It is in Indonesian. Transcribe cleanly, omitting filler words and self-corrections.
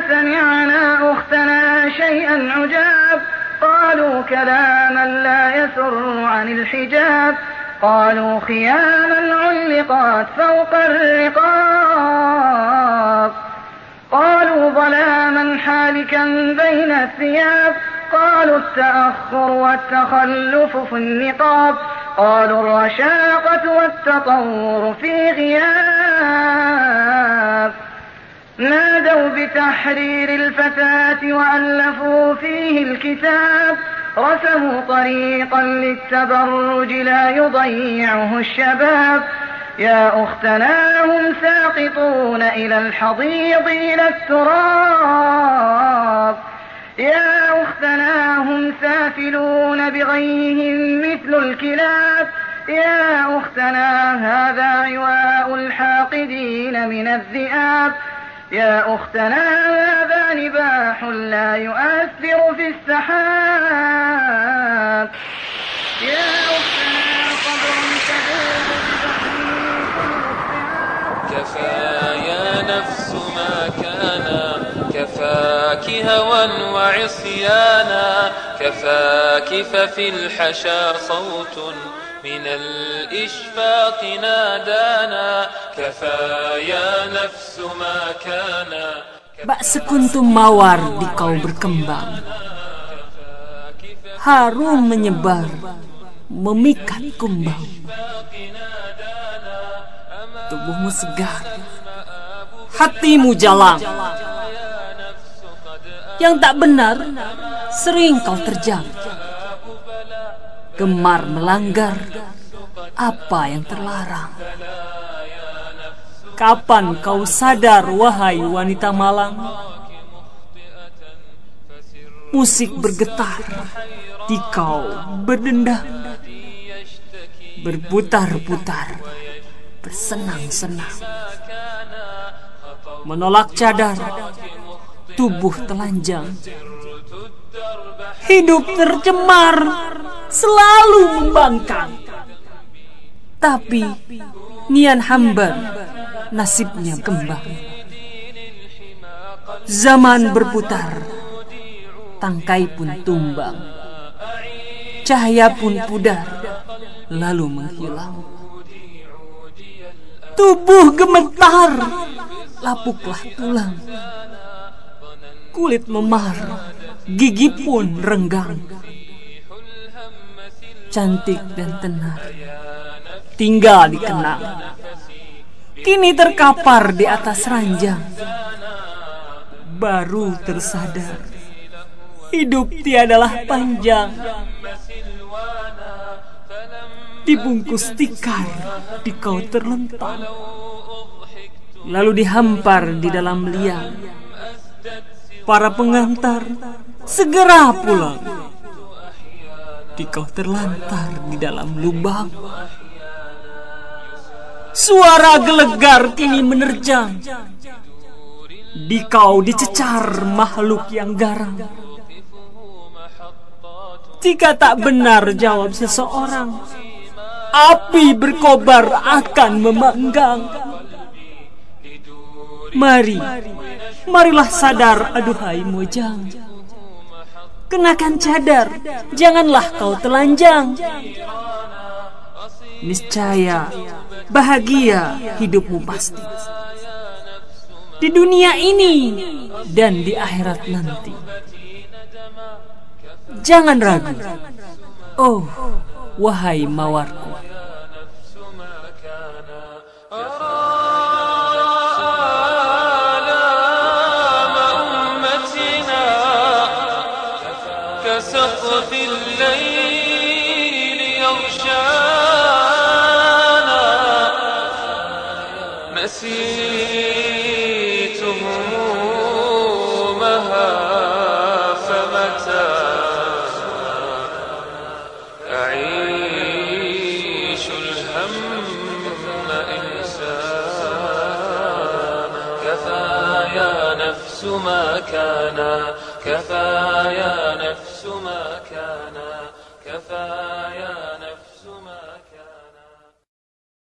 سمعنا أختنا شيئا عجاب قالوا كلاما لا يسر عن الحجاب قالوا خياما علقات فوق الرقاب قالوا ظلاما حالكا بين الثياب قالوا التأخر والتخلف في النقاب قالوا الرشاقة والتطور في غياب نادوا بتحرير الفتاة وألفوا فيه الكتاب رسموا طريقا للتبرج لا يضيعه الشباب يا أختنا هم ساقطون إلى الحضيض إلى التراب يا أختنا هم سافلون بغيهم مثل الكلاب يا أختنا هذا عواء الحاقدين من الذئاب يا أختنا هذا نباح لا يؤثر في السحاب يا أختنا قبر تذوب كفى يا نفس ما كان كفاك هوى وعصيانا كفاك ففي الحشا صوت من الإشفاق نادانا كفى يا نفس ما كان. Bak sekuntum mawar di kau berkembang, harum menyebar, memikat kumbang. Tubuhmu segar, hatimu jalang. Yang tak benar sering kau terjang, gemar melanggar apa yang terlarang. Kapan kau sadar, wahai wanita malang? Musik bergetar di kau berdendang, berputar-putar, bersenang-senang. Menolak cadar, tubuh telanjang. Hidup tercemar, selalu membangkang. Tapi nian hamba nasibnya kembang. Zaman berputar, tangkai pun tumbang, cahaya pun pudar, lalu menghilang. Tubuh gemetar, lapuklah tulang. Kulit memar, gigi pun renggang. Cantik dan tenar tinggal dikenang, kini terkapar di atas ranjang. Baru tersadar, hidup tiadalah panjang. Dibungkus tikar, di kau terlentang, lalu dihampar di dalam liang. Para pengantar segera pulang, di kau terlantar di dalam lubang. Suara gelegar kini menerjang, di kau dicecar makhluk yang garang. Jika tak benar jawab seseorang, api berkobar akan memanggang. Marilah sadar, aduhai mojang. Kenakan cadar, janganlah kau telanjang. Niscaya bahagia hidupmu pasti, di dunia ini dan di akhirat nanti. Jangan ragu, oh wahai mawarku. كسقف الليل يغشانا نسيت همومها فمتى أعيش الهم إنسانا كفى يا نفس ما كان كفى يا نفس ما كان كفى